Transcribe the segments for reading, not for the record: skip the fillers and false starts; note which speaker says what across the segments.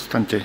Speaker 1: Povstaňte.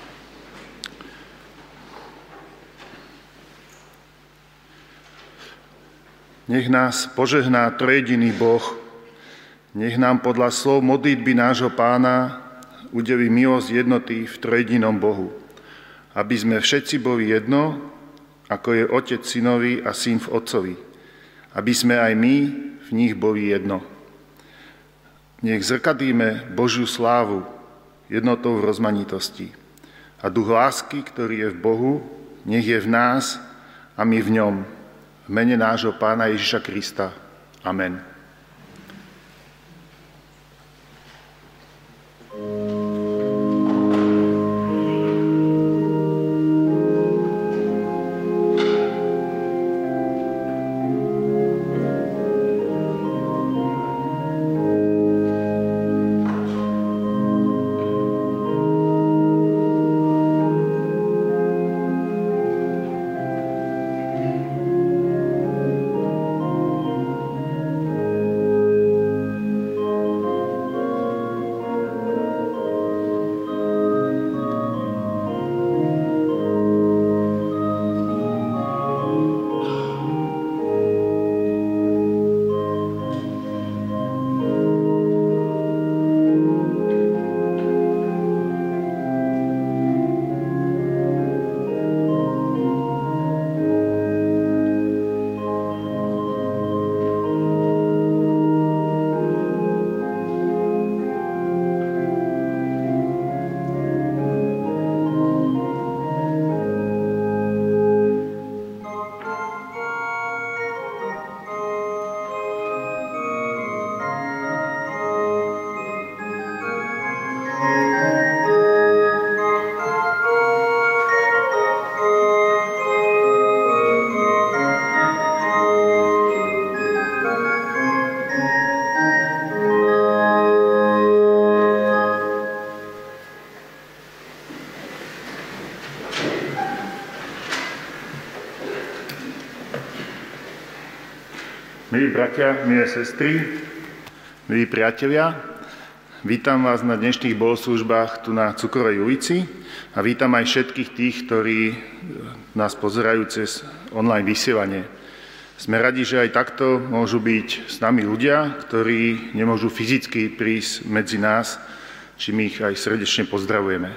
Speaker 1: Nech nás požehná trojjediný Boh, nech nám podľa slov modlitby nášho Pána udeví milosť jednoty v trojjedinom Bohu, aby sme všetci boli jedno, ako je Otec Synovi a Syn v Otcovi, aby sme aj my v nich boli jedno. Nech zrkadlíme Božiu slávu jednotou v rozmanitosti. A duch lásky, ktorý je v Bohu, nech je v nás a my v ňom. V mene nášho Pána Ježiša Krista. Amen. Milí bratia, milé sestry, milí priatelia, vítam vás na dnešných bohoslužbách tu na Cukrovej ulici a vítam aj všetkých tých, ktorí nás pozerajú cez online vysielanie. Sme radi, že aj takto môžu byť s nami ľudia, ktorí nemôžu fyzicky prísť medzi nás, čím ich aj srdečne pozdravujeme.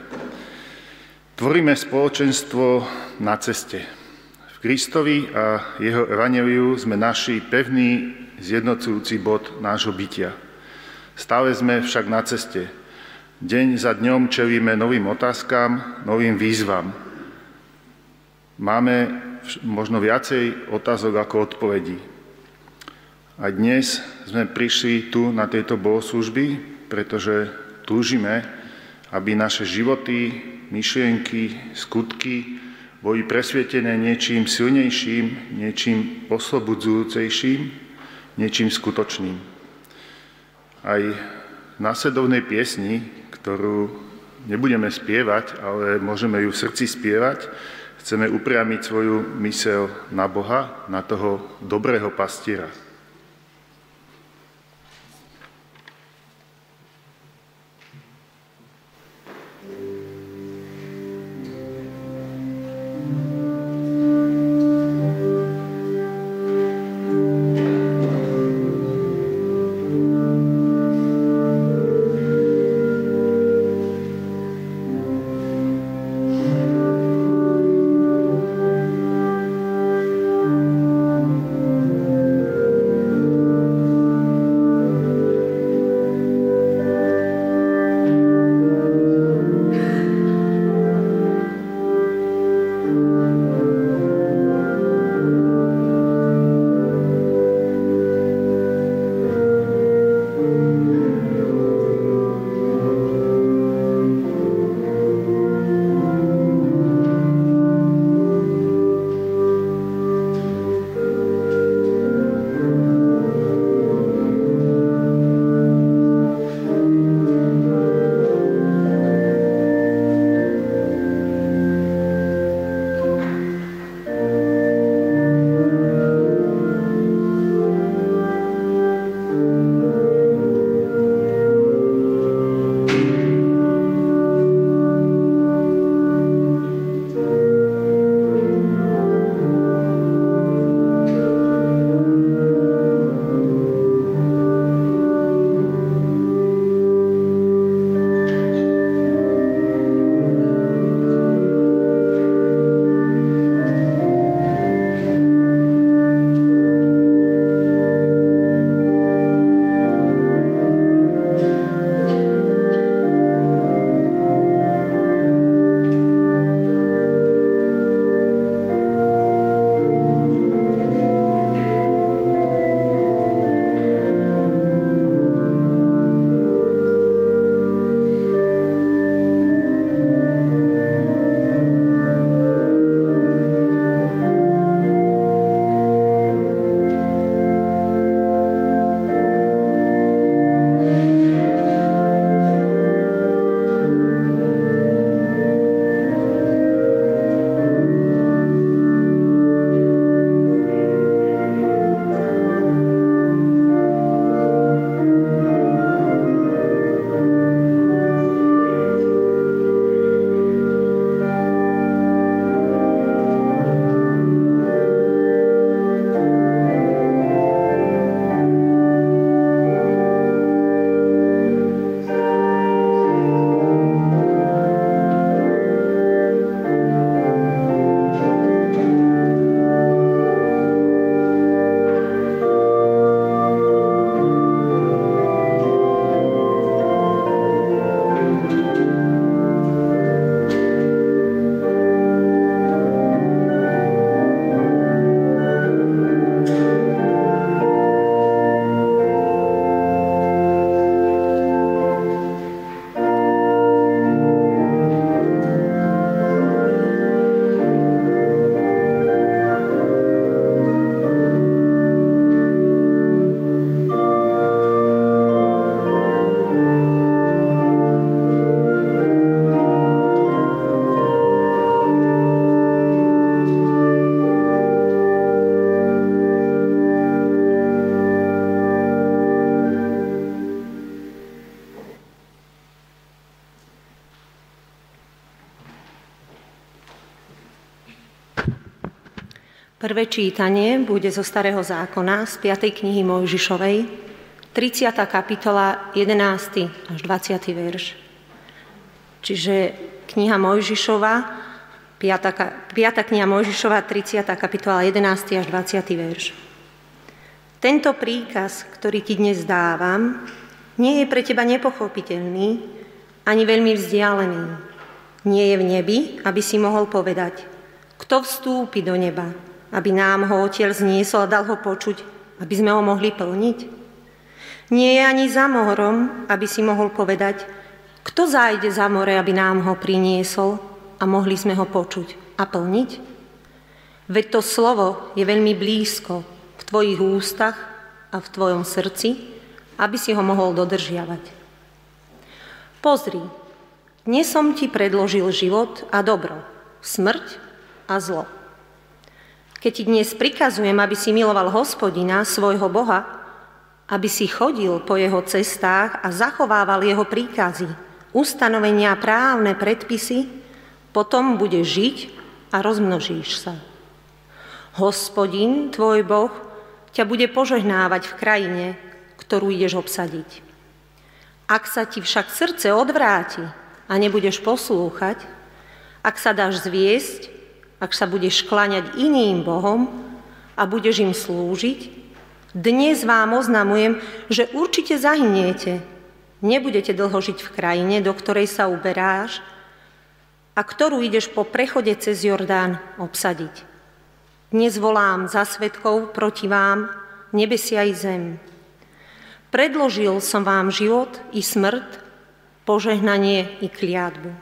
Speaker 1: Tvoríme spoločenstvo na ceste. V Kristovi a jeho evanjeliu sme našli pevný zjednocujúci bod nášho bytia. Stále sme však na ceste. Deň za dňom čelíme novým otázkam, novým výzvam. Máme možno viacej otázok ako odpovedí. A dnes sme prišli tu na tejto bohoslužby, pretože túžime, aby naše životy, myšlienky, skutky boli presvietené niečím silnejším, niečím oslobodzujúcejším, niečím skutočným. Aj v nasledovnej piesni, ktorú nebudeme spievať, ale môžeme ju v srdci spievať, chceme upriamiť svoju myseľ na Boha, na toho dobrého pastiera.
Speaker 2: Prvé čítanie bude zo Starého zákona, z 5. knihy Mojžišovej, 30. kapitola, 11. až 20. verš. Čiže kniha Mojžišova, 5. kniha Mojžišova, 30. kapitola, 11. až 20. verš. Tento príkaz, ktorý ti dnes dávam, nie je pre teba nepochopiteľný, ani veľmi vzdialený. Nie je v nebi, aby si mohol povedať, kto vstúpi do neba, aby nám ho Odtiaľ zniesol a dal ho počuť, aby sme ho mohli plniť. Nie je ani za morom, aby si mohol povedať, kto zájde za more, aby nám ho priniesol a mohli sme ho počuť a plniť. Veď to slovo je veľmi blízko v tvojich ústach a v tvojom srdci, aby si ho mohol dodržiavať. Pozri, dnes som ti predložil život a dobro, smrť a zlo. Keď ti dnes prikazujem, aby si miloval Hospodina, svojho Boha, aby si chodil po jeho cestách a zachovával jeho príkazy, ustanovenia, právne predpisy, potom budeš žiť a rozmnožíš sa. Hospodin, tvoj Boh, ťa bude požehnávať v krajine, ktorú ideš obsadiť. Ak sa ti však srdce odvráti a nebudeš poslúchať, ak sa dáš zviesť, ak sa budeš kláňať iným bohom a budeš im slúžiť, dnes vám oznamujem, že určite zahyniete. Nebudete dlho žiť v krajine, do ktorej sa uberáš a ktorú ideš po prechode cez Jordán obsadiť. Dnes volám za svedkov proti vám, nebesia i zem. Predložil som vám život i smrť, požehnanie i kliatbu.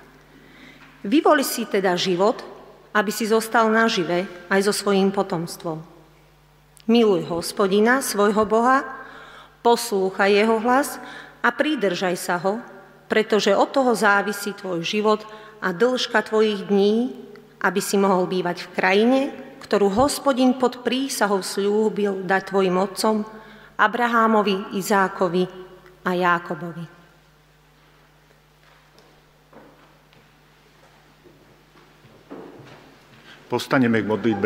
Speaker 2: Vyvoli si teda život, aby si zostal nažive aj so svojím potomstvom. Miluj Hospodina, svojho Boha, poslúchaj jeho hlas a pridržaj sa ho, pretože od toho závisí tvoj život a dĺžka tvojich dní, aby si mohol bývať v krajine, ktorú Hospodin pod prísahou sľúbil dať tvojim otcom, Abrahámovi, Izákovi a Jákobovi.
Speaker 1: Postaneme k modlitbe.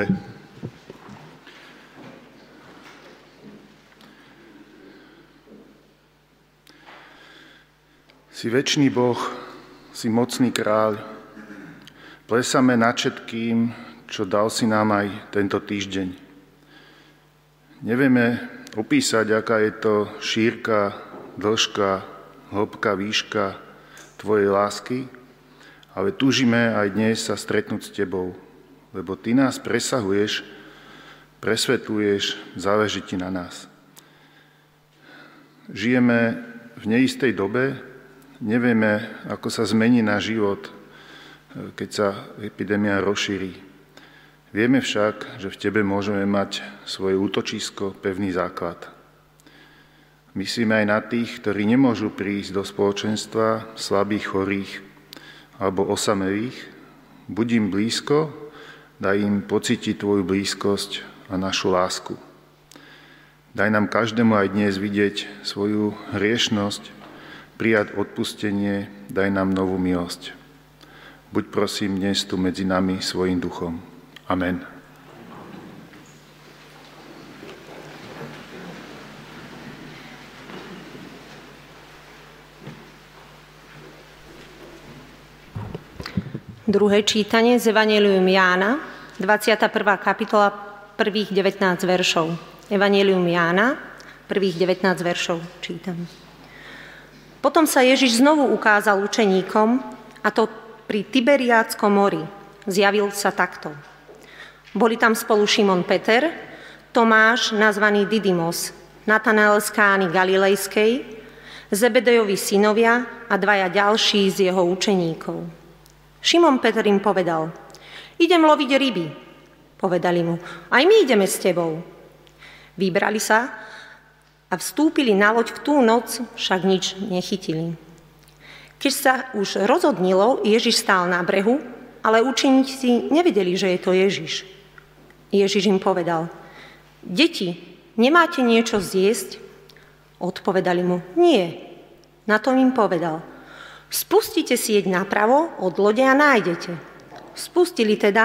Speaker 1: Si večný Boh, si mocný kráľ. Plesame nad všetkým, čo dal si nám aj tento týždeň. Nevieme opísať, aká je to šírka, dĺžka, hĺbka, výška tvojej lásky, ale túžime aj dnes sa stretnúť s tebou, lebo ty nás presahuješ, presvetľuješ, záleží ti na nás. Žijeme v neistej dobe, nevieme, ako sa zmení náš život, keď sa epidémia rozšíri. Vieme však, že v tebe môžeme mať svoje útočisko, pevný základ. Myslíme aj na tých, ktorí nemôžu prísť do spoločenstva slabých, chorých alebo osamelých. Buď im blízko, daj im pocítiť tvoju blízkosť a našu lásku. Daj nám každému aj dnes vidieť svoju hriešnosť, prijať odpustenie, daj nám novú milosť. Buď prosím dnes tu medzi nami svojím duchom. Amen.
Speaker 2: Druhé čítanie z Evanjelium Jána, 21. kapitola, prvých 19 veršov. Evanjelium Jána, prvých 19 veršov čítam. Potom sa Ježiš znovu ukázal učeníkom, a to pri Tiberiádskom mori. Zjavil sa takto. Boli tam spolu Šimon Peter, Tomáš, nazvaný Didymos, Natanael z Kány Galilejskej, Zebedejovi synovia a dvaja ďalší z jeho učeníkov. Šimon Peter im povedal, idem loviť ryby. Povedali mu, aj my ideme s tebou. Vybrali sa a vstúpili na loď v tú noc, však nič nechytili. Keď sa už rozodnilo, Ježiš stál na brehu, ale učeníci nevedeli, že je to Ježiš. Ježiš im povedal, deti, nemáte niečo zjesť? Odpovedali mu, nie. Na to im povedal, spustite sieť napravo od lode a nájdete. Spustili teda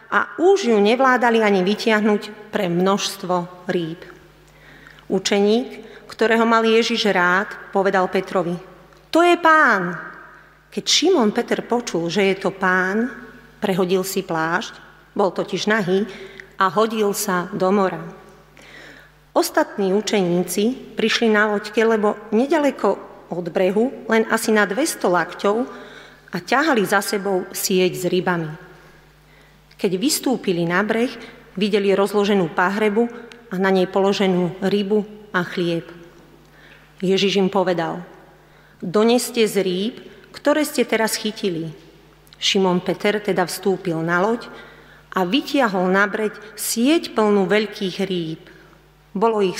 Speaker 2: a už ju nevládali ani vytiahnuť pre množstvo rýb. Učeník, ktorého mal Ježiš rád, povedal Petrovi: To je Pán! Keď Šimon Peter počul, že je to Pán, prehodil si plášť, bol totiž nahý, a hodil sa do mora. Ostatní učeníci prišli na loďke, lebo nedaleko od brehu, len asi na 200 lakťov, a ťahali za sebou sieť s rybami. Keď vystúpili na breh, videli rozloženú pahrebu a na nej položenú rybu a chlieb. Ježiš im povedal: Doneste z rýb, ktoré ste teraz chytili. Šimon Peter teda vstúpil na loď a vytiahol na breď sieť plnú veľkých rýb. Bolo ich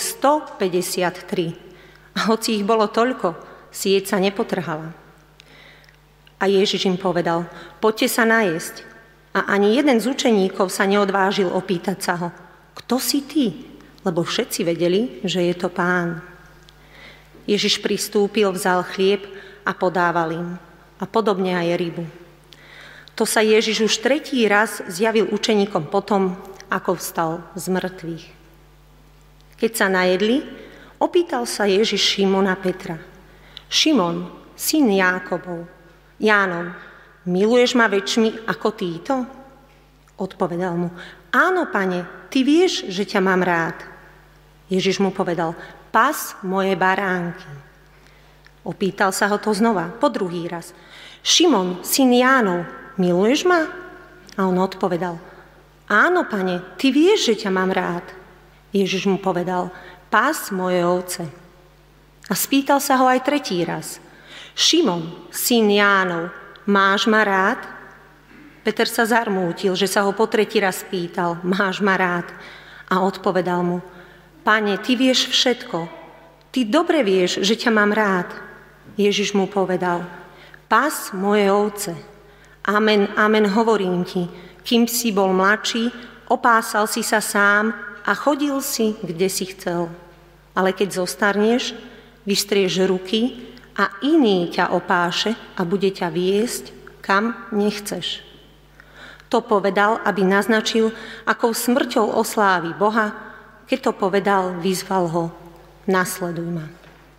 Speaker 2: 153. A hoci ich bolo toľko, sieť sa nepotrhala. A Ježiš im povedal: Poďte sa najesť. A ani jeden z učeníkov sa neodvážil opýtať sa ho: Kto si ty? Lebo všetci vedeli, že je to Pán. Ježiš pristúpil, vzal chlieb a podával im. A podobne aj rybu. To sa Ježiš už 3. raz zjavil učeníkom potom, ako vstal z mŕtvych. Keď sa najedli, opýtal sa Ježiš Šimona Petra: Šimon, syn Jánov, miluješ ma väčšmi ako títo? Odpovedal mu: Áno, Pane, ty vieš, že ťa mám rád. Ježiš mu povedal: Pas moje baránky. Opýtal sa ho to znova, po 2. raz: Šimon, syn Jánov, miluješ ma? A on odpovedal: Áno, Pane, ty vieš, že ťa mám rád. Ježiš mu povedal: Pás moje ovce. A spýtal sa ho aj 3. raz: Šimon, syn Jánov, máš ma rád? Peter sa zarmútil, že sa ho po 3. raz pýtal: Máš ma rád? A odpovedal mu: Pane, ty vieš všetko. Ty dobre vieš, že ťa mám rád. Ježiš mu povedal: Pás moje ovce. Amen, amen, hovorím ti, kým si bol mladší, opásal si sa sám a chodil si, kde si chcel. Ale keď zostarneš, vystrieš ruky a iný ťa opáše a bude ťa viesť, kam nechceš. To povedal, aby naznačil, akou smrťou oslávi Boha. Keď to povedal, vyzval ho: Nasleduj ma.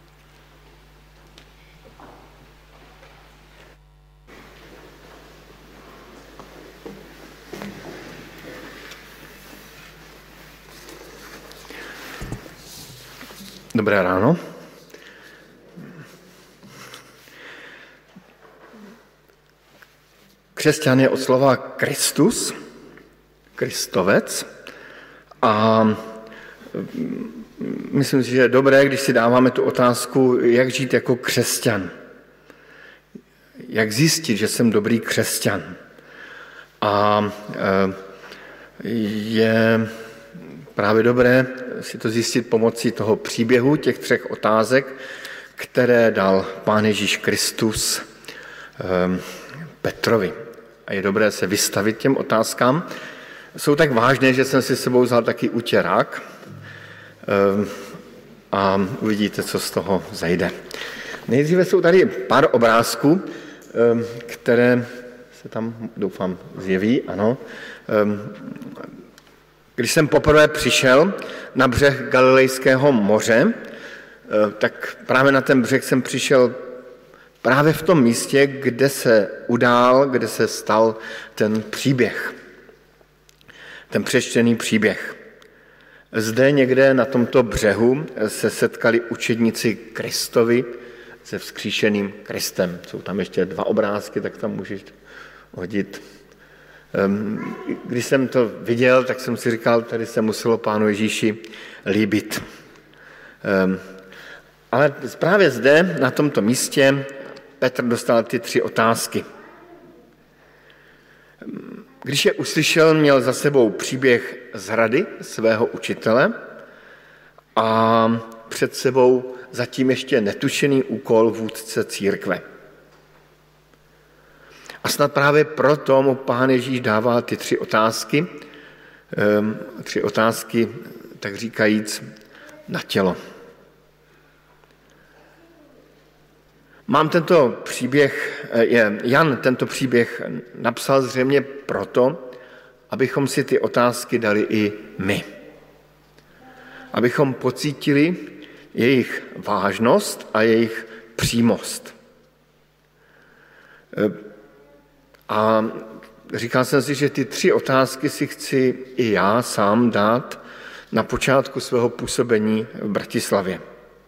Speaker 3: Dobré ráno. Křesťan je od slova Kristus, Kristovec, a myslím si, že je dobré, když si dáváme tu otázku, jak žít jako křesťan. Jak zjistit, že jsem dobrý křesťan. A je právě dobré si to zjistit pomocí toho příběhu, těch 3 otázek, které dal Pán Ježíš Kristus Petrovi. A je dobré se vystavit těm otázkám. Jsou tak vážné, že jsem si s sebou vzal taky utěrák a uvidíte, co z toho zajde. Nejdříve jsou tady pár obrázků, které se tam, doufám, zjeví, ano. Když jsem poprvé přišel na břeh Galilejského moře, tak právě na ten břeh jsem přišel právě v tom místě, kde se udál, kde se stal ten příběh. Ten přečtený příběh. Zde někde na tomto břehu se setkali učedníci Kristovi se vzkříšeným Kristem. Jsou tam ještě 2 obrázky, tak tam můžeš hodit. Když jsem to viděl, tak jsem si říkal, tady se muselo Pánu Ježíši líbit. Ale právě zde, na tomto místě, Petr dostal ty 3 otázky. Když je uslyšel, měl za sebou příběh zrady svého učitele a před sebou zatím ještě netušený úkol vůdce církve. A snad právě proto mu Pán Ježíš dává ty 3 otázky, 3 otázky, tak říkajíc, na tělo. Jan tento příběh napsal zřejmě proto, abychom si ty otázky dali i my. Abychom pocítili jejich vážnost a jejich přímost. A říkal jsem si, že ty 3 otázky si chci i já sám dát na počátku svého působení v Bratislavě.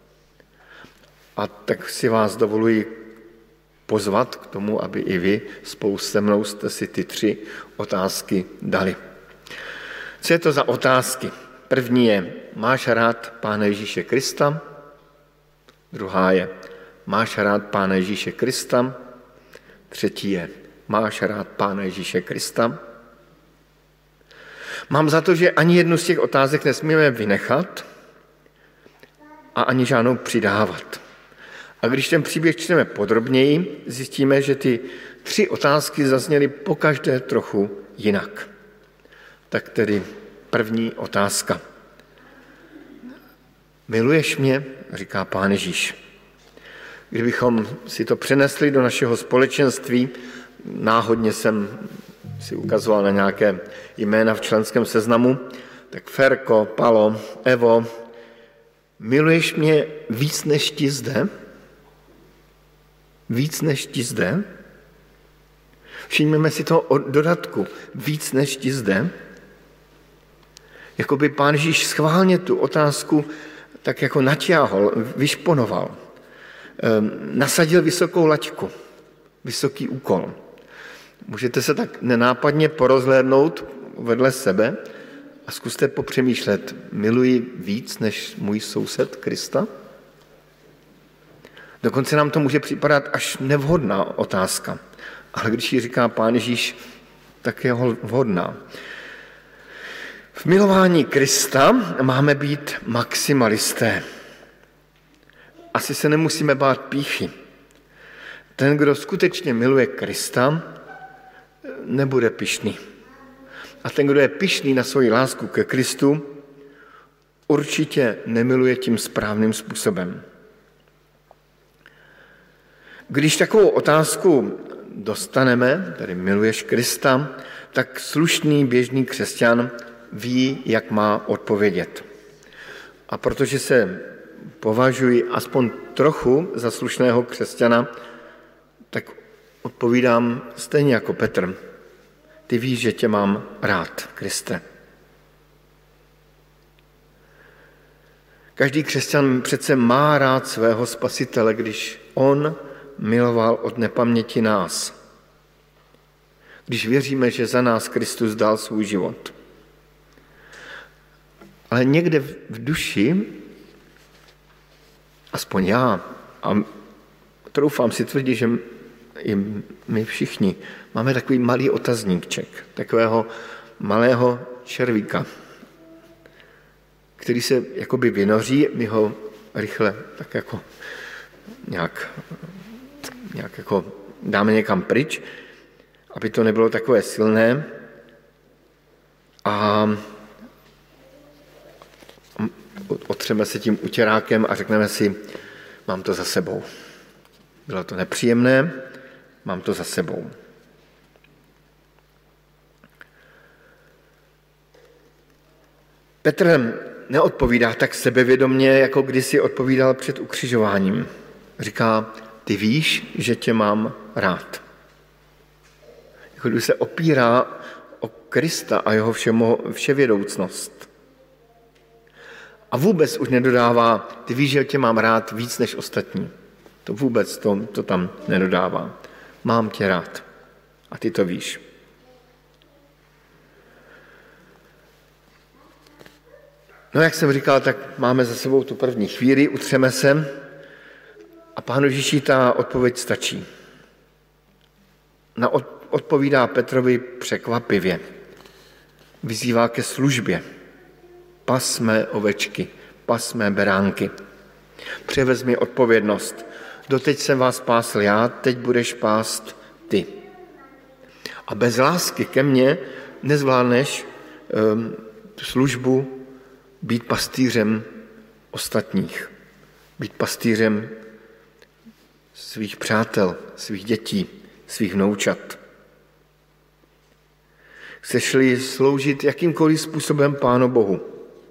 Speaker 3: A tak si vás dovoluji pozvat k tomu, aby i vy spolu se mnou jste si ty 3 otázky dali. Co je to za otázky? První je, máš rád Pána Ježíše Krista? Druhá je, máš rád Pána Ježíše Krista? Třetí je, máš rád Pána Ježíše Krista? Mám za to, že ani jednu z těch otázek nesmíme vynechat a ani žádnou přidávat. A když ten příběh čteme podrobněji, zjistíme, že ty 3 otázky zazněly pokaždé trochu jinak. Tak tedy první otázka. Miluješ mě? Říká Pán Ježíš. Kdybychom si to přenesli do našeho společenství, náhodně jsem si ukazoval na nějaké jména v členském seznamu, tak Ferko, Palo, Evo, miluješ mě víc než ti zde? Víc než ti zde? Všimněme si toho dodatku. Víc než ti zde? Jakoby Pán Ježíš schválně tu otázku tak jako naťáhl, vyšponoval. Nasadil vysokou laťku, vysoký úkol. Můžete se tak nenápadně porozhlédnout vedle sebe a zkuste popřemýšlet, miluji víc než můj soused Krista? Dokonce nám to může připadat až nevhodná otázka, ale když ji říká Pán Ježíš, tak je vhodná. V milování Krista máme být maximalisté. Asi se nemusíme bát pýchy. Ten, kdo skutečně miluje Krista, nebude pyšný. A ten, kdo je pyšný na svoji lásku ke Kristu, určitě nemiluje tím správným způsobem. Když takovou otázku dostaneme, tedy miluješ Krista, tak slušný běžný křesťan ví, jak má odpovědět. A protože se považuji aspoň trochu za slušného křesťana, tak odpovídám stejně jako Petr. Ty víš, že tě mám rád, Kriste. Každý křesťan přece má rád svého Spasitele, když on miloval od nepaměti nás. Když věříme, že za nás Kristus dal svůj život. Ale někde v duši, aspoň já, a troufám si tvrdit, že i my všichni, máme takový malý otazníček, takového malého červíka, který se jakoby vynoří, my ho rychle tak jako nějak jako dáme někam pryč, aby to nebylo takové silné a otřeme se tím utěrákem a řekneme si, mám to za sebou. Bylo to nepříjemné, mám to za sebou. Petr neodpovídá tak sebevědomně, jako kdysi odpovídal před ukřižováním. Říká, ty víš, že tě mám rád. Jako když se opírá o Krista a jeho vševědoucnost. A vůbec už nedodává, ty víš, že tě mám rád víc než ostatní. To vůbec to tam nedodává. Mám tě rád. A ty to víš. No, jak jsem říkal, tak máme za sebou tu první chvíli, utřeme se a Pánu Ježíši ta odpověď stačí. Odpovídá Petrovi překvapivě. Vyzývá ke službě. Pas mé ovečky, pas mé beránky. Převezmi odpovědnost. Doteď jsem vás pásl já, teď budeš pást ty. A bez lásky ke mně nezvládneš službu být pastýřem ostatních. Být pastýřem svých přátel, svých dětí, svých vnoučat. Chceš-li sloužit jakýmkoliv způsobem Pánu Bohu,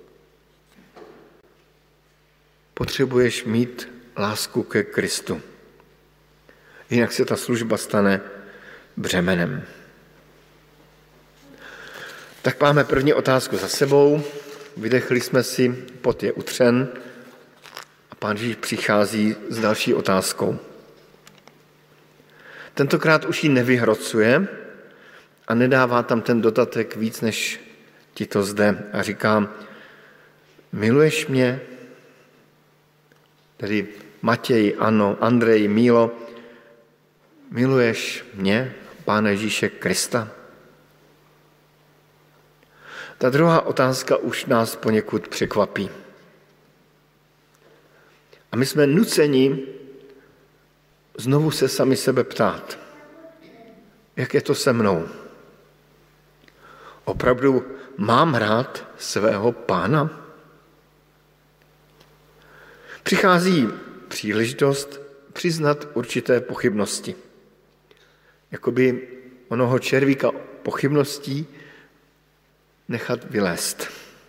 Speaker 3: potřebuješ mít lásku ke Kristu. Jinak se ta služba stane břemenem. Tak máme první otázku za sebou. Vydechli jsme si, pot je utřen a Pán Ježíš přichází s další otázkou. Tentokrát už ji nevyhrocuje a nedává tam ten dodatek víc, než ti to zde. A říká, miluješ mě? Tedy Matěj, ano, Andrej, Mílo, miluješ mě, Pána Ježíše Krista? Ta druhá otázka už nás poněkud překvapí. A my jsme nuceni znovu se sami sebe ptát, jak je to se mnou? Opravdu mám rád svého Pána? Přichází příležitost přiznat určité pochybnosti. Jakoby onoho červíka pochybností nechat vylézt.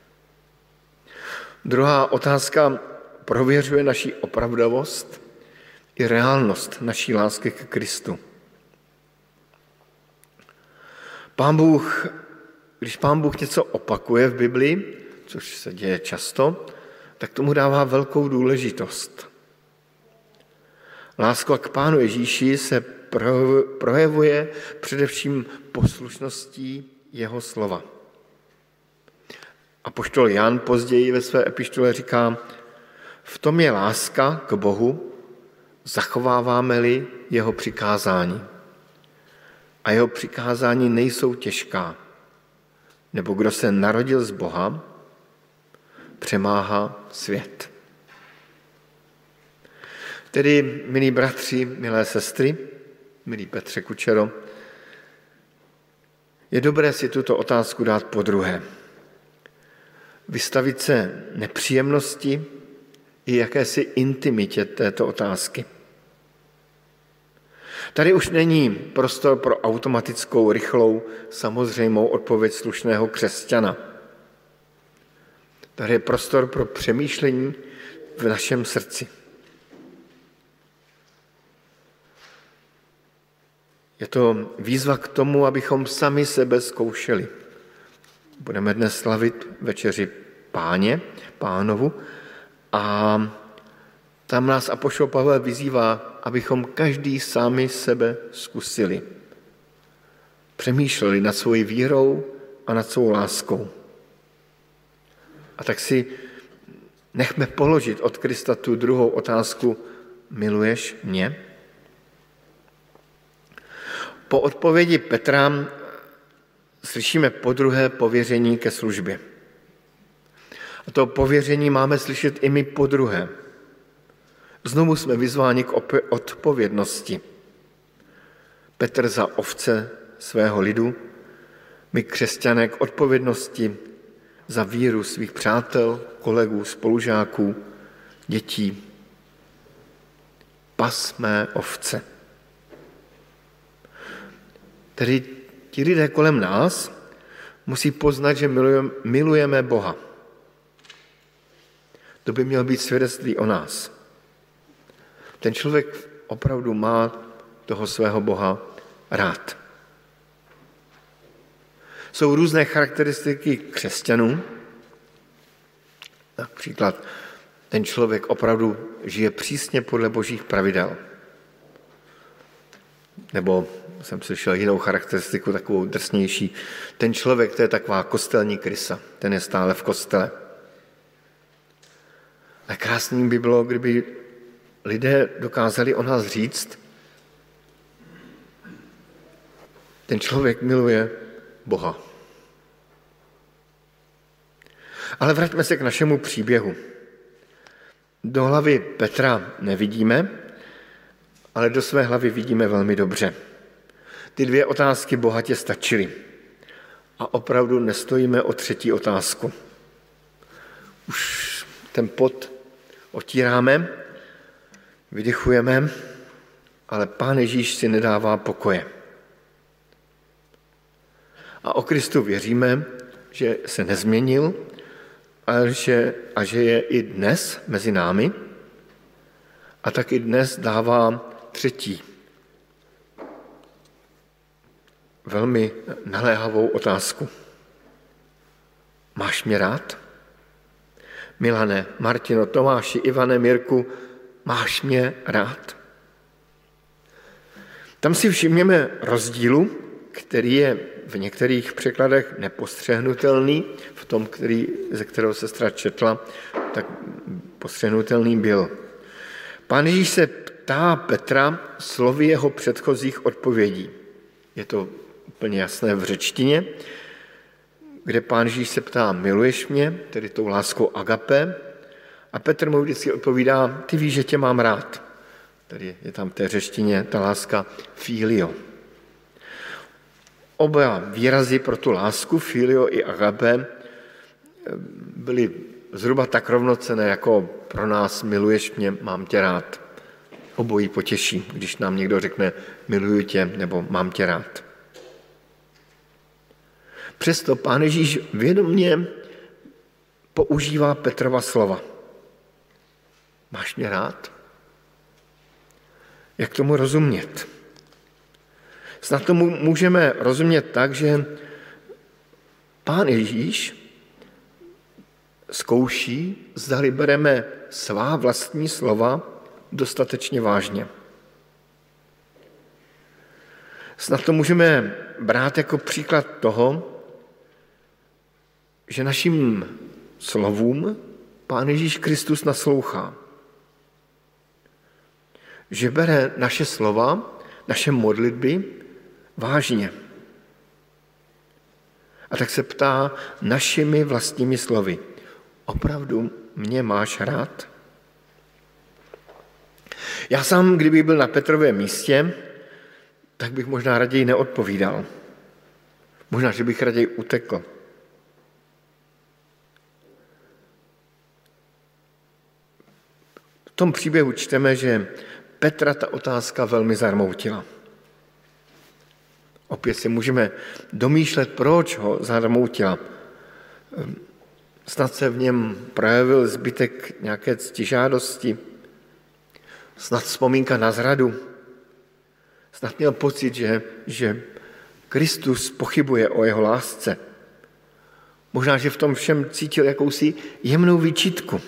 Speaker 3: Druhá otázka prověřuje naši opravdovost i reálnost naší lásky k Kristu. Když Pán Bůh něco opakuje v Biblii, což se děje často, tak tomu dává velkou důležitost. Láska k Pánu Ježíši se projevuje především poslušností jeho slova. Apoštol Jan později ve své epištole říká, v tom je láska k Bohu, zachováváme-li jeho přikázání. A jeho přikázání nejsou těžká, nebo kdo se narodil z Boha, přemáhá svět. Tedy, milí bratři, milé sestry, milý Petře Kučero, je dobré si tuto otázku dát podruhé. Vystavit se nepříjemnosti i jakési intimitě této otázky. Tady už není prostor pro automatickou, rychlou, samozřejmou odpověď slušného křesťana. Tady je prostor pro přemýšlení v našem srdci. Je to výzva k tomu, abychom sami sebe zkoušeli. Budeme dnes slavit večeři Pánovu a tam nás apoštol Pavel vyzývá, abychom každý sami sebe zkusili. Přemýšleli nad svojí vírou a nad svou láskou. A tak si nechme položit od Krista tu druhou otázku, miluješ mě? Po odpovědi Petra slyšíme podruhé pověření ke službě. A to pověření máme slyšet i my podruhé. Znovu jsme vyzváni k odpovědnosti. Petr za ovce svého lidu, my křesťané k odpovědnosti za víru svých přátel, kolegů, spolužáků, dětí. Pas mé ovce. Tedy ti lidé kolem nás musí poznat, že milujeme Boha. To by mělo být svědectví o nás. Ten člověk opravdu má toho svého Boha rád. Jsou různé charakteristiky křesťanů. Například ten člověk opravdu žije přísně podle božích pravidel. Nebo jsem slyšel jinou charakteristiku, takovou drsnější. Ten člověk, to je taková kostelní krysa. Ten je stále v kostele. A krásným by bylo, kdyby lidé dokázali o nás říct, ten člověk miluje Boha. Ale vraťme se k našemu příběhu. Do hlavy Petra nevidíme, ale do své hlavy vidíme velmi dobře. Ty dvě otázky bohatě stačily. A opravdu nestojíme o třetí otázku. Už ten pot otíráme, vydychujeme, ale Pán Ježíš si nedává pokoje. A o Kristu věříme, že se nezměnil a že je i dnes mezi námi a tak i dnes dává třetí velmi naléhavou otázku. Máš mě rád? Milane, Martino, Tomáši, Ivane, Mirku, máš mě rád? Tam si všimněme rozdílu, který je v některých překladech nepostřehnutelný, v tom, ze kterého sestra četla, tak postřehnutelný byl. Pán Ježíš se ptá Petra slovy jeho předchozích odpovědí. Je to úplně jasné v řečtině, kde Pán Ježíš se ptá, miluješ mě, tedy tou láskou agape, a Petr mu vždycky odpovídá, ty víš, že tě mám rád. Tady je tam v té řečtině ta láska filio. Oba výrazy pro tu lásku, filio i agape, byly zhruba tak rovnocenné, jako pro nás miluješ mě, mám tě rád. Obojí potěší, když nám někdo řekne miluju tě nebo mám tě rád. Přesto Pán Ježíš vědomě používá Petrova slova. Máš mě rád? Jak tomu rozumět? Snad tomu můžeme rozumět tak, že Pán Ježíš zkouší, zdali bereme svá vlastní slova dostatečně vážně. Snad to můžeme brát jako příklad toho, že našim slovům Pán Ježíš Kristus naslouchá. Že bere naše slova, naše modlitby vážně. A tak se ptá našimi vlastními slovy. Opravdu mě máš rád? Já sám, kdybych byl na Petrově místě, tak bych možná raději neodpovídal. Možná, že bych raději utekl. V tom příběhu čteme, že Petra ta otázka velmi zarmoutila. Opět si můžeme domýšlet, proč ho zarmoutila. Snad se v něm projevil zbytek nějaké ctižádosti, snad vzpomínka na zradu, snad měl pocit, že Kristus pochybuje o jeho lásce. Možná, že v tom všem cítil jakousi jemnou výčitku.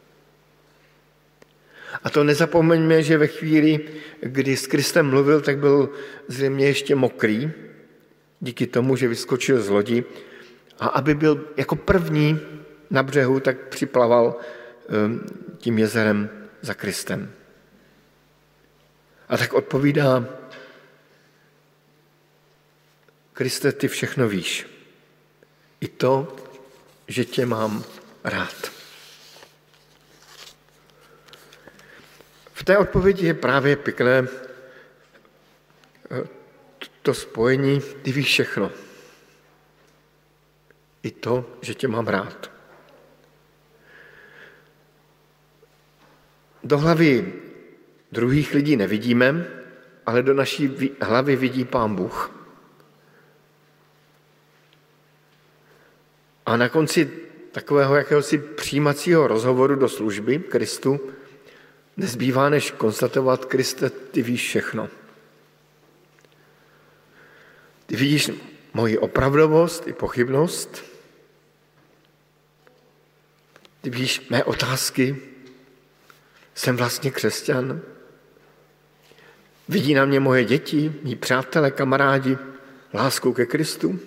Speaker 3: A to nezapomeňme, že ve chvíli, kdy s Kristem mluvil, tak byl zřejmě ještě mokrý, díky tomu, že vyskočil z lodi. A aby byl jako první na břehu, tak připlaval tím jezerem za Kristem. A tak odpovídá, Kriste, ty všechno víš. I to, že tě mám rád. V té odpovědi je právě pěkné to spojení, ty víš všechno. I to, že tě mám rád. Do hlavy druhých lidí nevidíme, ale do naší hlavy vidí Pán Bůh. A na konci takového jakéhosi přijímacího rozhovoru do služby Kristu nezbývá, než konstatovat, Kriste, ty víš všechno. Ty vidíš moji opravdovost i pochybnost. Ty víš mé otázky. Jsem vlastně křesťan. Vidí na mě moje děti, mí přátelé, kamarádi, láskou ke Kristu.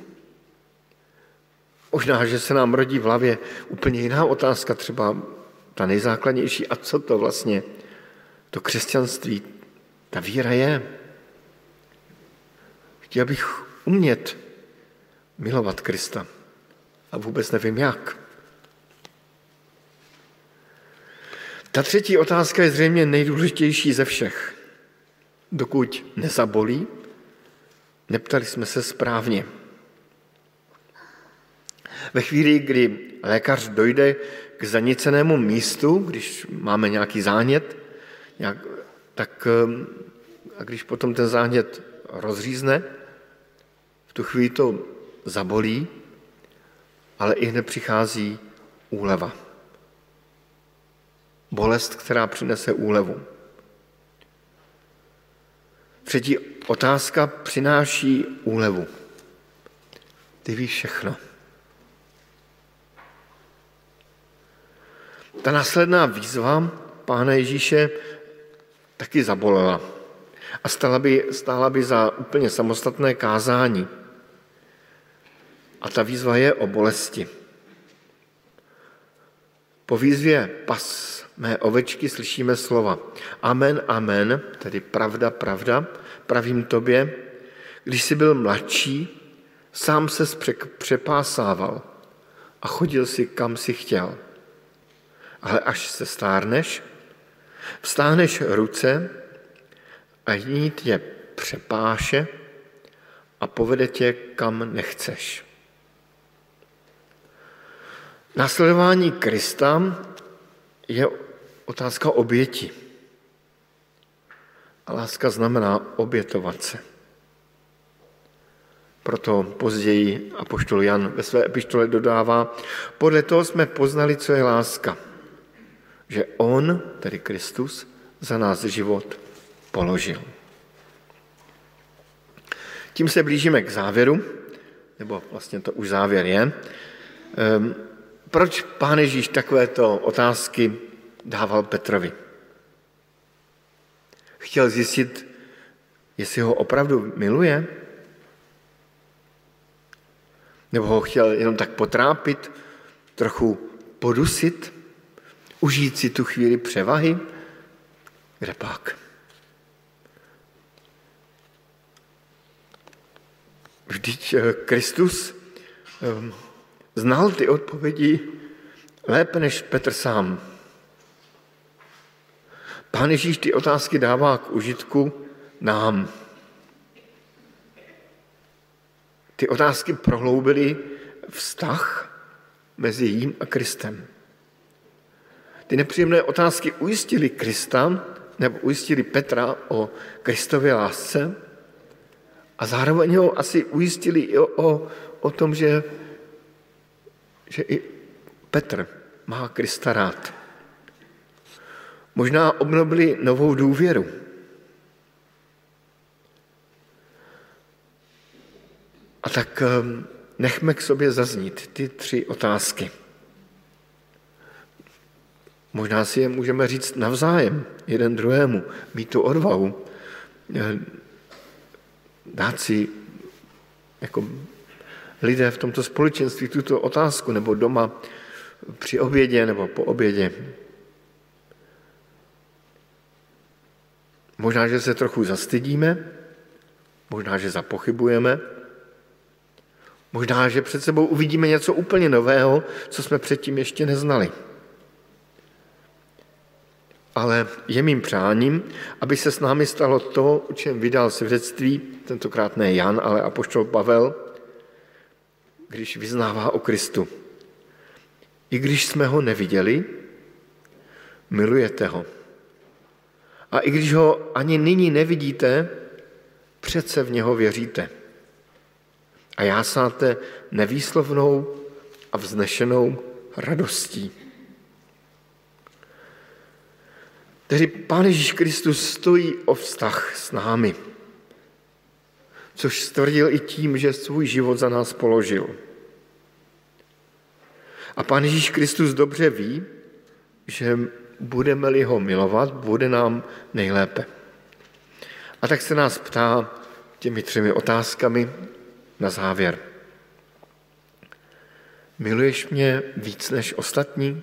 Speaker 3: Možná, že se nám rodí v hlavě úplně jiná otázka, třeba ta nejzákladnější. A co to vlastně to křesťanství, ta víra je? Chtěl bych umět milovat Krista a vůbec nevím jak. Ta třetí otázka je zřejmě nejdůležitější ze všech. Dokud nezabolí, neptali jsme se správně. Ve chvíli, kdy lékař dojde k zanicenému místu, když máme nějaký zánět, a když potom ten zánět rozřízne, v tu chvíli to zabolí, ale i hned přichází úleva. Bolest, která přinese úlevu. Třetí otázka přináší úlevu. Ty víš všechno. Ta následná výzva Pána Ježíše taky zabolela a stála by za úplně samostatné kázání. A ta výzva je o bolesti. Po výzvě pas mé ovečky slyšíme slova. Amen, amen, tedy pravda, pravda, pravím tobě, když jsi byl mladší, sám ses přepásával a chodil si, kam si chtěl. Ale až se stárneš, vstáhneš ruce a jiný tě přepáše a povede tě, kam nechceš. Následování Krista je otázka oběti. A láska znamená obětovat se. Proto později apoštol Jan ve své epištole dodává, podle toho jsme poznali, co je láska. Že on, tedy Kristus, za nás život položil. Tím se blížíme k závěru, nebo vlastně to už závěr je. Proč Pán Ježíš takovéto otázky dával Petrovi? Chtěl zjistit, jestli ho opravdu miluje? Nebo ho chtěl jenom tak potrápit, trochu podusit, užít si tu chvíli převahy? Kde pak? Vždyť Kristus znal ty odpovědi lépe než Petr sám. Pán Ježíš ty otázky dává k užitku nám. Ty otázky prohloubily vztah mezi jím a Kristem. Ty nepříjemné otázky ujistily Krista, nebo ujistili Petra o Kristově lásce a zároveň ho asi ujistili i o tom, že i Petr má Krista rád. Možná obnovili novou důvěru. A tak nechme k sobě zaznít ty 3 otázky. Možná si je můžeme říct navzájem, jeden druhému, mít tu odvahu, dát si jako lidé v tomto společenství tuto otázku, nebo doma při obědě nebo po obědě. Možná, že se trochu zastydíme, možná, že zapochybujeme, možná, že před sebou uvidíme něco úplně nového, co jsme předtím ještě neznali. Ale je mým přáním, aby se s námi stalo to, o čem vydal svědectví, tentokrát ne Jan, ale apoštol Pavel, když vyznává o Kristu. I když jsme ho neviděli, milujete ho. A i když ho ani nyní nevidíte, přece v něho věříte. A jásáte nevýslovnou a vznešenou radostí. Tedy Pán Ježíš Kristus stojí o vztah s námi, což stvrdil i tím, že svůj život za nás položil. A Pán Ježíš Kristus dobře ví, že budeme-li ho milovat, bude nám nejlépe. A tak se nás ptá těmi 3 otázkami na závěr. Miluješ mě víc než ostatní?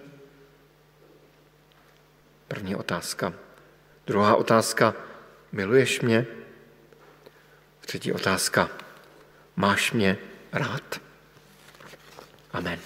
Speaker 3: První otázka. Druhá otázka. Miluješ mě? Třetí otázka. Máš mě rád? Amen.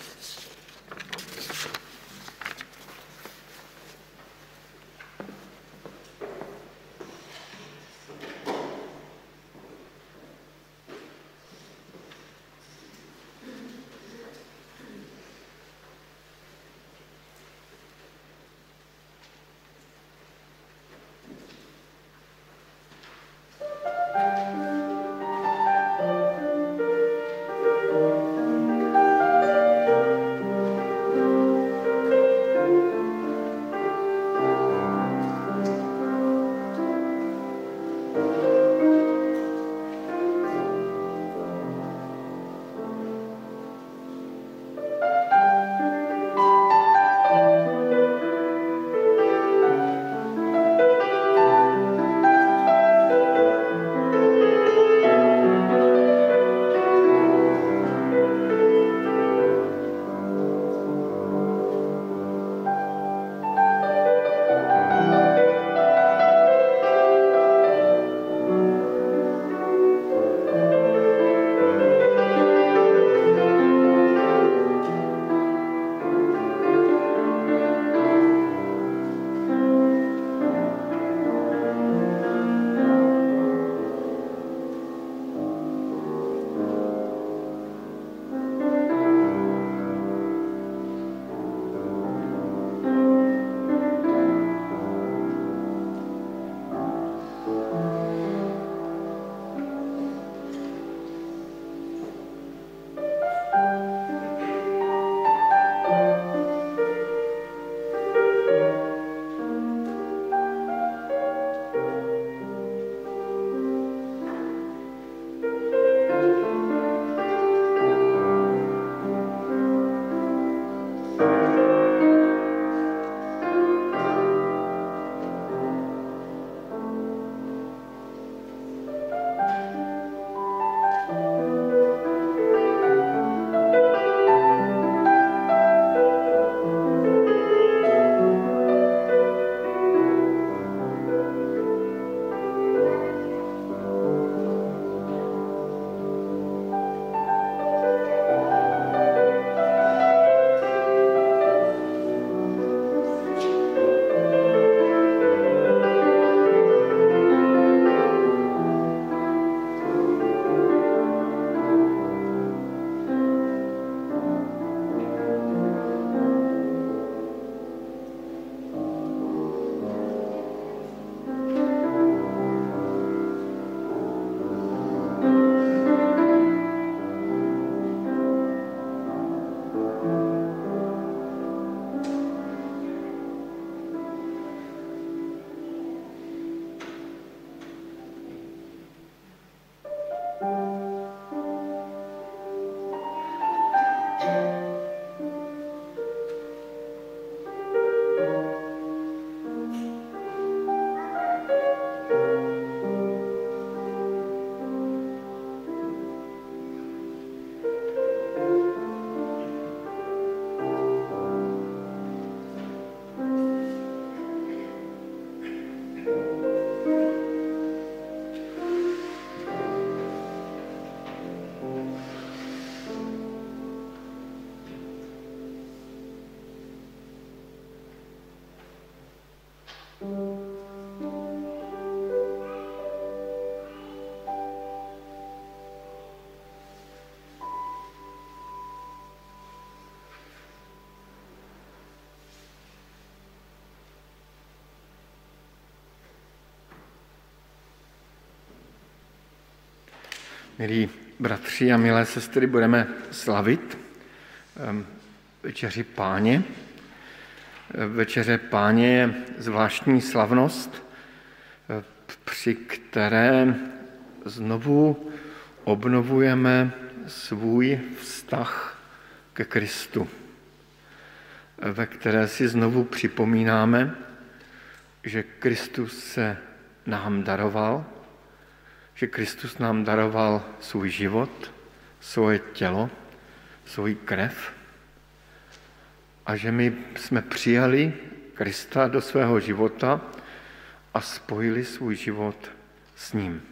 Speaker 3: Milí bratři a milé sestry, budeme slavit večeři Páně. Večeře Páně je zvláštní slavnost, při které znovu obnovujeme svůj vztah ke Kristu, ve které si znovu připomínáme, že Kristus se nám daroval, že Kristus nám daroval svůj život, svoje tělo, svou krev a že my jsme přijali Krista do svého života a spojili svůj život s ním.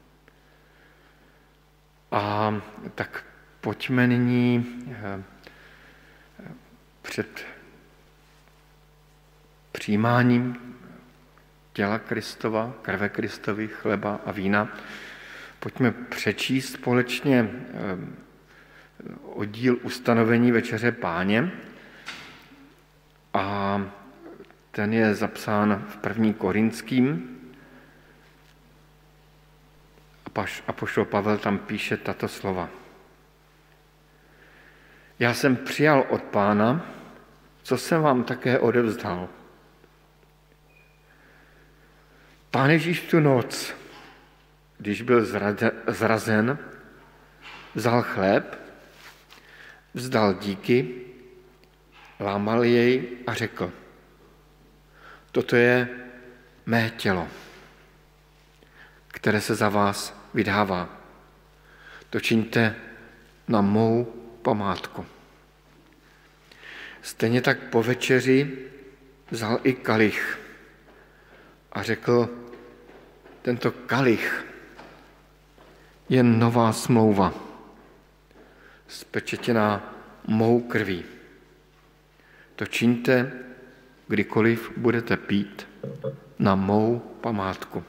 Speaker 3: A tak pojďme nyní před přijímáním těla Kristova, krve Kristovy, chleba a vína, pojďme přečíst společně oddíl ustanovení Večeře Páně a ten je zapsán v 1. Korinským. Apoštol Pavel tam píše tato slova. Já jsem přijal od Pána, co jsem vám také odevzdal. Pán Ježíš tu noc, když byl zrazen, vzal chléb, vzdal díky, lámal jej a řekl, toto je mé tělo, které se za vás vydává. To čiňte na mou památku. Stejně tak po večeři vzal i kalich a řekl, tento kalich je nová smlouva, spečetěná mou krví. To čiňte, kdykoliv budete pít, na mou památku.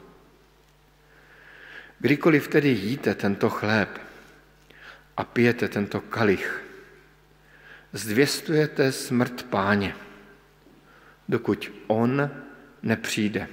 Speaker 3: Kdykoliv tedy jíte tento chléb a pijete tento kalich, zvěstujete smrt Páně, dokud on nepřijde.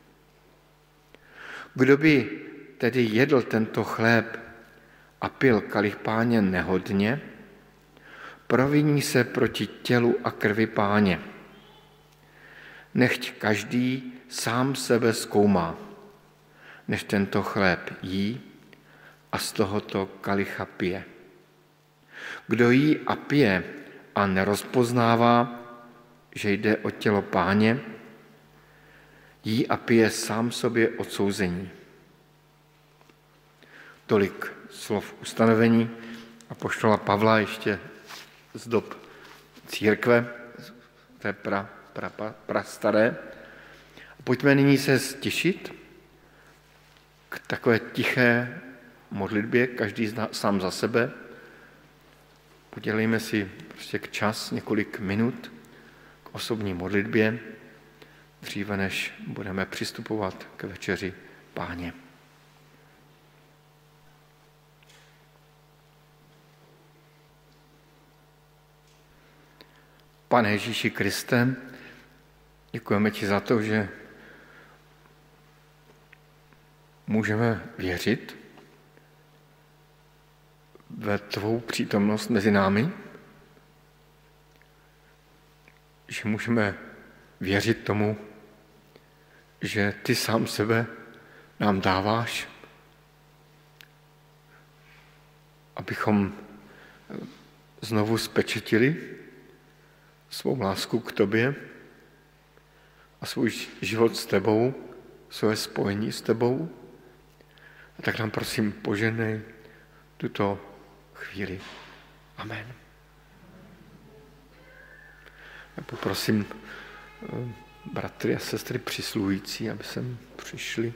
Speaker 3: Kdo by tedy jedl tento chléb a pil kalich Páně nehodně, proviní se proti tělu a krvi Páně. Nechť každý sám sebe zkoumá, než tento chléb jí a z tohoto kalicha pije. Kdo jí a pije a nerozpoznává, že jde o tělo Páně, jí a pije sám sobě odsouzení. Tolik slov ustanovení apoštola Pavla ještě z dob církve, té prastaré. Pojďme nyní se stišit k takové tiché modlitbě, každý sám za sebe. Udělejme si prostě k čas, několik minut k osobní modlitbě, dříve než budeme přistupovat k večeři Páně. Pane Ježíši Kriste, děkujeme ti za to, že můžeme věřit ve tvou přítomnost mezi námi, že můžeme věřit tomu, že ty sám sebe nám dáváš, abychom znovu spečetili svou lásku k tobě a svůj život s tebou, své spojení s tebou. A tak nám prosím poženej tuto chvíli. Amen. Já poprosím bratry a sestry přisluhující, aby sem přišli.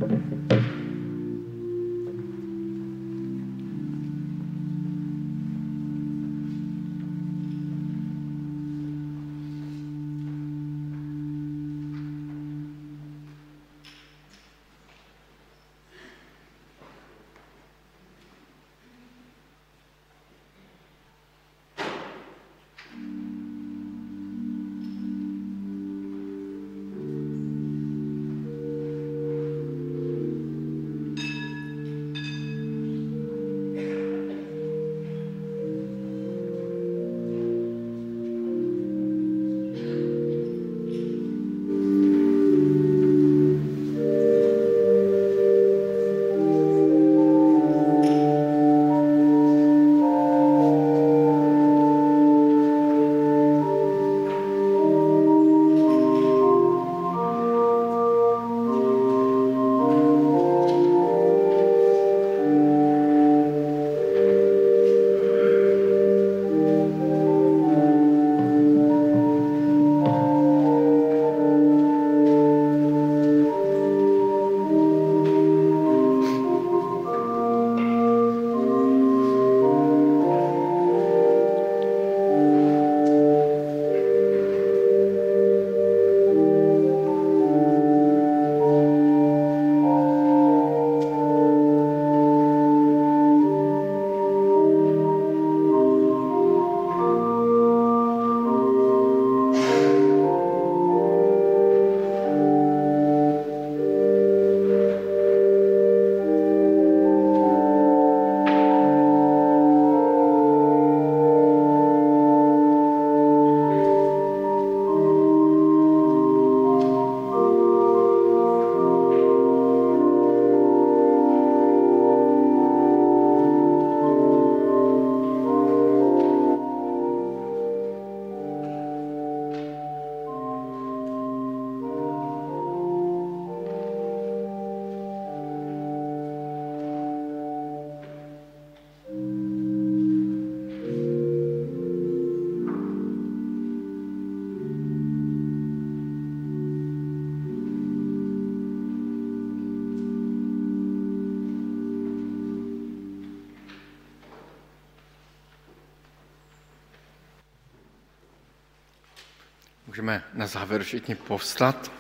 Speaker 3: Můžeme na závěr všichni povstat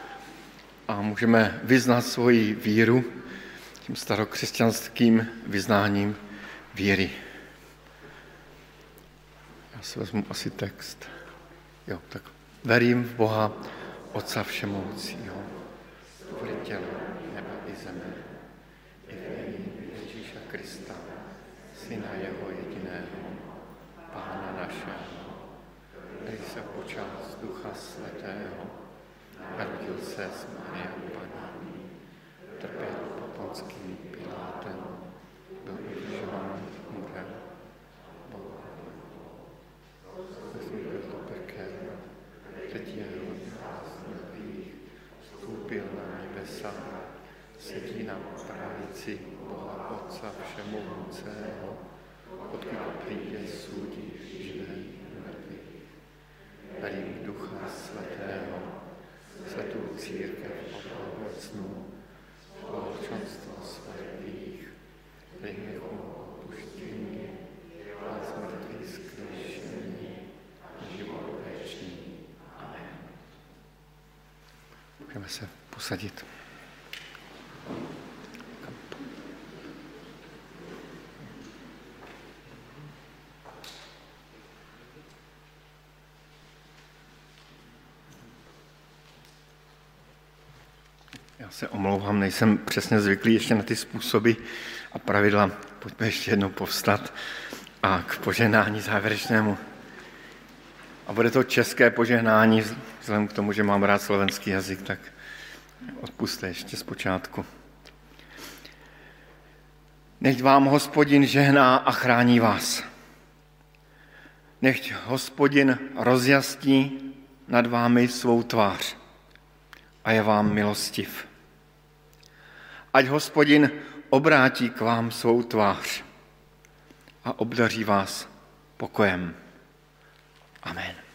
Speaker 3: a můžeme vyznat svoji víru tím starokřesťanským vyznáním víry. Já si vezmu asi text. Jo, tak verím v Boha, Otca všemohoucího, stvořitele nebe i zeme, i v Ježíša Krista, Syna jeho jediného, Pána našeho, který se počal z Ducha Svatého, narodil se z Marie Panny, trpěl pod Ponským Pilátem, byl ukřižován, umřel, vstoupil do pekel, třetího dne z mrtvých, vstoupil na nebesa, sedí na pravici Boha Otce všemohoucího, odkud přijde soudit živé i mrtvé. Verím v Ducha Svatého, svatou církev obnovecnou, společenstvo svatých, hříchů odpuštění a smrtvých vzkříšení a život věčný. Amen. Můžeme se posadit. Já se omlouvám, nejsem přesně zvyklý ještě na ty způsoby a pravidla. Pojďme ještě jednou povstat a k požehnání závěrečnému. A bude to české požehnání, vzhledem k tomu, že mám rád slovenský jazyk, tak odpusťte ještě zpočátku. Nechť vám Hospodin žehná a chrání vás. Nechť Hospodin rozjasní nad vámi svou tvář a je vám milostiv. Ať Hospodin obrátí k vám svou tvář a obdaří vás pokojem. Amen.